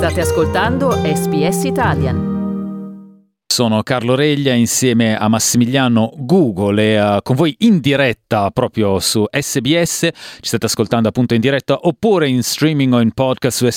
State ascoltando SBS Italian. Sono Carlo Reglia insieme a Massimiliano Google e con voi in diretta proprio su SBS. Ci state ascoltando appunto in diretta oppure in streaming o in podcast su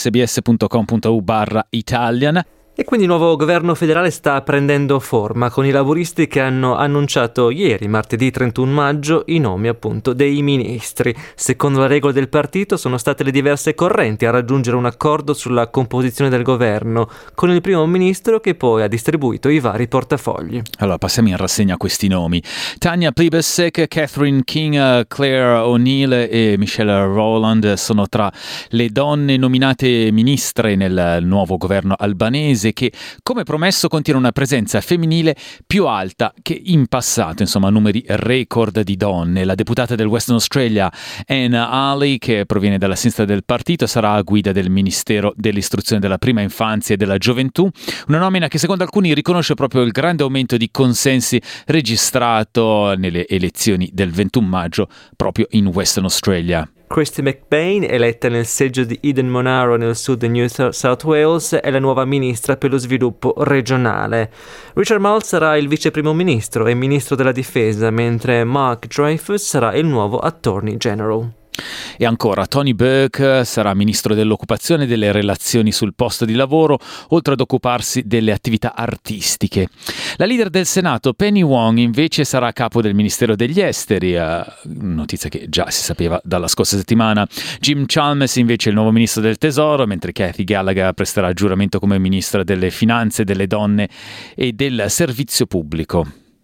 sbs.com.u/Italian. E quindi il nuovo governo federale sta prendendo forma con i laburisti che hanno annunciato ieri, martedì 31 maggio, i nomi appunto dei ministri. Secondo le regole del partito sono state le diverse correnti a raggiungere un accordo sulla composizione del governo, con il primo ministro che poi ha distribuito i vari portafogli. Allora passiamo in rassegna questi nomi. Tanya Plibersek, Catherine King, Claire O'Neill e Michelle Rowland sono tra le donne nominate ministre nel nuovo governo albanese, che come promesso contiene una presenza femminile più alta che in passato, insomma numeri record di donne. La deputata del Western Australia Anna Ali, che proviene dalla sinistra del partito, sarà a guida del Ministero dell'Istruzione della Prima Infanzia e della Gioventù, una nomina che secondo alcuni riconosce proprio il grande aumento di consensi registrato nelle elezioni del 21 maggio proprio in Western Australia. Christy McBain, eletta nel seggio di Eden Monaro nel sud di New South Wales, è la nuova ministra per lo sviluppo regionale. Richard Marles sarà il vice primo ministro e ministro della difesa, mentre Mark Dreyfus sarà il nuovo Attorney General. E ancora Tony Burke sarà ministro dell'occupazione e delle relazioni sul posto di lavoro, oltre ad occuparsi delle attività artistiche. La leader del Senato Penny Wong invece sarà capo del Ministero degli Esteri, notizia che già si sapeva dalla scorsa settimana. Jim Chalmers invece è il nuovo ministro del Tesoro, mentre Kathy Gallagher presterà giuramento come ministra delle Finanze, delle Donne e del Servizio Pubblico.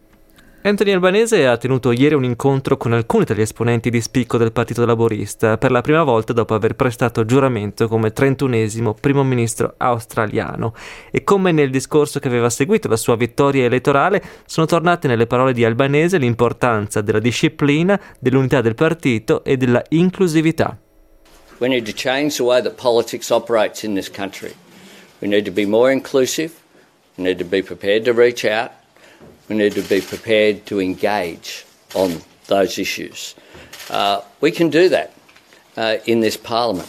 Anthony Albanese ha tenuto ieri un incontro con alcuni degli esponenti di spicco del Partito Laborista, per la prima volta dopo aver prestato giuramento come 31esimo primo ministro australiano. E come nel discorso che aveva seguito la sua vittoria elettorale, sono tornate nelle parole di Albanese l'importanza della disciplina, dell'unità del partito e della inclusività. We need to change the way that politics operates in this country. We need to be more inclusive. We need to be prepared to reach out. We need to be prepared to engage on those issues. We can do that in this Parliament.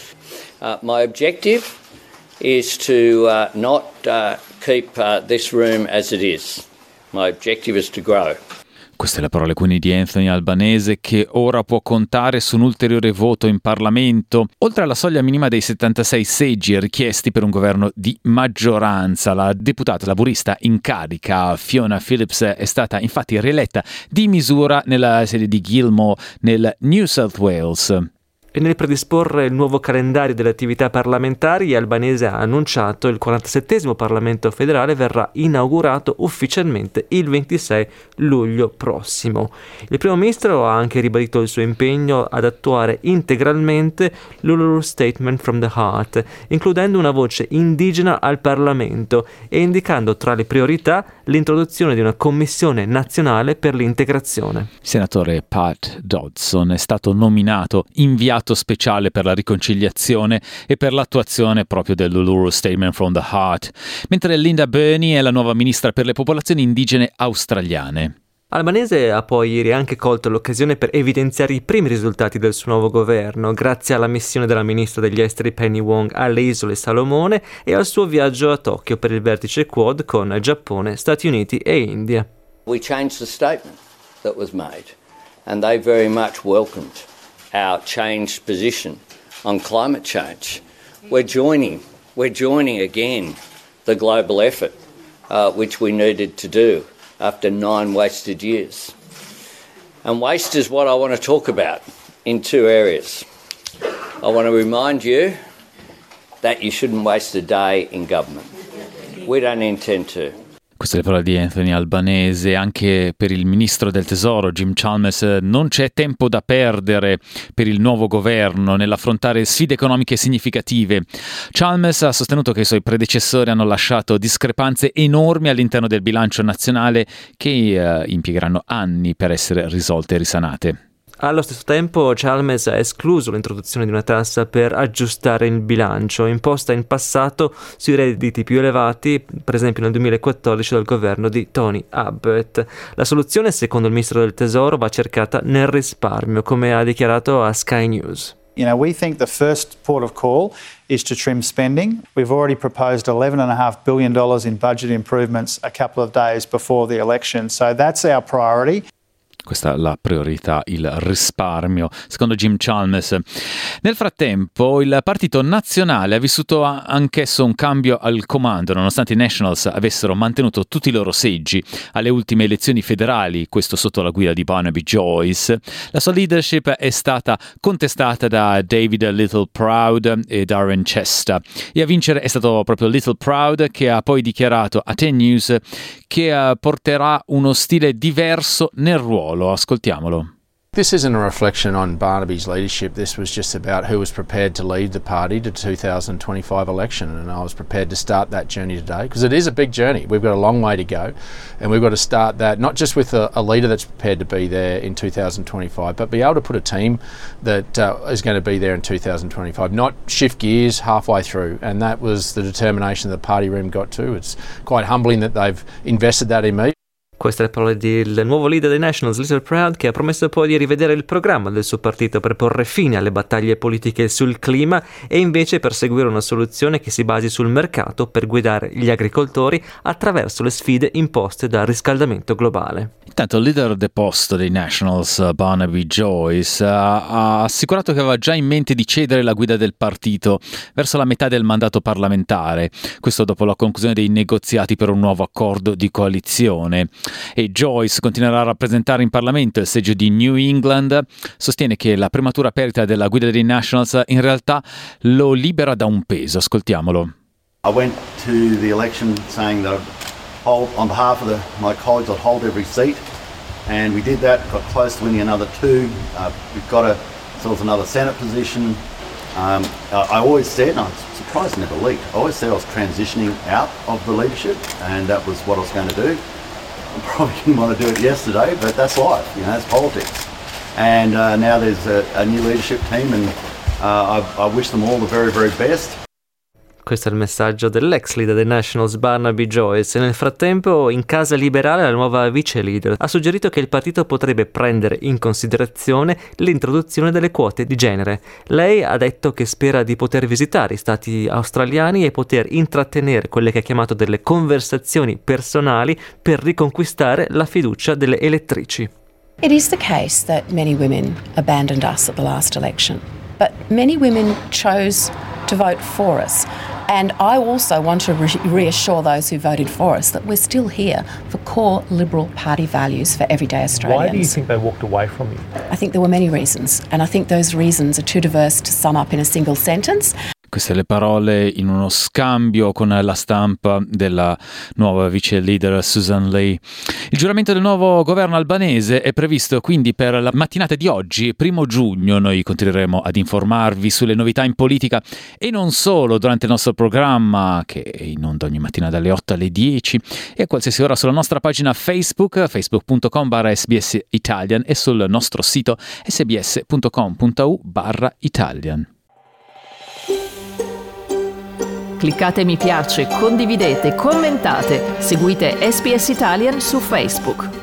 My objective is to not keep this room as it is. My objective is to grow. Queste le parole quindi di Anthony Albanese, che ora può contare su un ulteriore voto in Parlamento. Oltre alla soglia minima dei 76 seggi richiesti per un governo di maggioranza, la deputata laburista in carica Fiona Phillips è stata infatti rieletta di misura nella sede di Gilmore nel New South Wales. E nel predisporre il nuovo calendario delle attività parlamentari, Albanese ha annunciato il 47esimo Parlamento federale verrà inaugurato ufficialmente il 26 luglio prossimo. Il primo ministro ha anche ribadito il suo impegno ad attuare integralmente l'Uluru Statement from the Heart, includendo una voce indigena al Parlamento e indicando tra le priorità l'introduzione di una commissione nazionale per l'integrazione. Il senatore Pat Dodson è stato nominato inviato speciale per la riconciliazione e per l'attuazione proprio dell'Uluru Statement from the Heart, mentre Linda Burney è la nuova ministra per le popolazioni indigene australiane. Albanese ha poi ieri anche colto l'occasione per evidenziare i primi risultati del suo nuovo governo, grazie alla missione della ministra degli esteri Penny Wong alle Isole Salomone e al suo viaggio a Tokyo per il vertice Quad con Giappone, Stati Uniti e India. We changed the statement that was made, and they very much welcomed our changed position on climate change. We're joining again the global effort which we needed to do after 9 wasted years. And waste is what I want to talk about in 2 areas. I want to remind you that you shouldn't waste a day in government. We don't intend to. Queste le parole di Anthony Albanese. Anche per il ministro del Tesoro Jim Chalmers non c'è tempo da perdere per il nuovo governo nell'affrontare sfide economiche significative. Chalmers ha sostenuto che i suoi predecessori hanno lasciato discrepanze enormi all'interno del bilancio nazionale che impiegheranno anni per essere risolte e risanate. Allo stesso tempo Chalmers ha escluso l'introduzione di una tassa per aggiustare il bilancio, imposta in passato sui redditi più elevati, per esempio nel 2014 dal governo di Tony Abbott. La soluzione, secondo il ministro del Tesoro, va cercata nel risparmio, come ha dichiarato a Sky News. You know, we think the first port of call is to trim spending. We've already proposed $11.5 billion in budget improvements a couple of days before the election. So that's our priority. Questa è la priorità, il risparmio, secondo Jim Chalmers. Nel frattempo il Partito Nazionale ha vissuto anch'esso un cambio al comando, nonostante i Nationals avessero mantenuto tutti i loro seggi alle ultime elezioni federali, questo sotto la guida di Barnaby Joyce. La sua leadership è stata contestata da David Littleproud e Darren Chester, e a vincere è stato proprio Littleproud, che ha poi dichiarato a 10 News che porterà uno stile diverso nel ruolo. Ascoltiamolo. This isn't a reflection on Barnaby's leadership. This was just about who was prepared to lead the party to the 2025 election, and I was prepared to start that journey today because it is a big journey. We've got a long way to go, and we've got to start that not just with a leader that's prepared to be there in 2025, but be able to put a team that is going to be there in 2025, not shift gears halfway through, and that was the determination that the party room got to. It's quite humbling that they've invested that in me. Queste le parole del nuovo leader dei Nationals, Littleproud, che ha promesso poi di rivedere il programma del suo partito per porre fine alle battaglie politiche sul clima e invece perseguire una soluzione che si basi sul mercato per guidare gli agricoltori attraverso le sfide imposte dal riscaldamento globale. Intanto il leader deposto dei Nationals, Barnaby Joyce, ha assicurato che aveva già in mente di cedere la guida del partito verso la metà del mandato parlamentare, questo dopo la conclusione dei negoziati per un nuovo accordo di coalizione. E Joyce continuerà a rappresentare in Parlamento il seggio di New England. Sostiene che la prematura perdita della guida dei Nationals in realtà lo libera da un peso. Ascoltiamolo. I went to the election saying that on behalf of my colleagues I'd hold every seat, and we did that, got close to winning another two. We've got ourselves another Senate position. I always said, and I'm surprised it never leaked, I always said I was transitioning out of the leadership, and that was what I was going to do. I probably didn't want to do it yesterday, but that's life, you know, it's politics. And now there's a new leadership team, and I wish them all the very, very best. Questo è il messaggio dell'ex leader dei Nationals, Barnaby Joyce. E nel frattempo, in Casa Liberale, la nuova vice leader ha suggerito che il partito potrebbe prendere in considerazione l'introduzione delle quote di genere. Lei ha detto che spera di poter visitare i stati australiani e poter intrattenere quelle che ha chiamato delle conversazioni personali per riconquistare la fiducia delle elettrici. It is the case that many women abandoned us at the last election, but many women chose to vote for us. And I also want to reassure those who voted for us that we're still here for core Liberal Party values for everyday Australians. Why do you think they walked away from you? I think there were many reasons, and I think those reasons are too diverse to sum up in a single sentence. Queste le parole in uno scambio con la stampa della nuova vice leader Susan Lee. Il giuramento del nuovo governo albanese è previsto quindi per la mattinata di oggi, 1 giugno. Noi continueremo ad informarvi sulle novità in politica e non solo durante il nostro programma, che è in onda ogni mattina dalle 8 alle 10 e a qualsiasi ora sulla nostra pagina Facebook, facebook.com/SBS Italian, e sul nostro sito sbs.com.au/Italian. Cliccate mi piace, condividete, commentate, seguite SBS Italian su Facebook.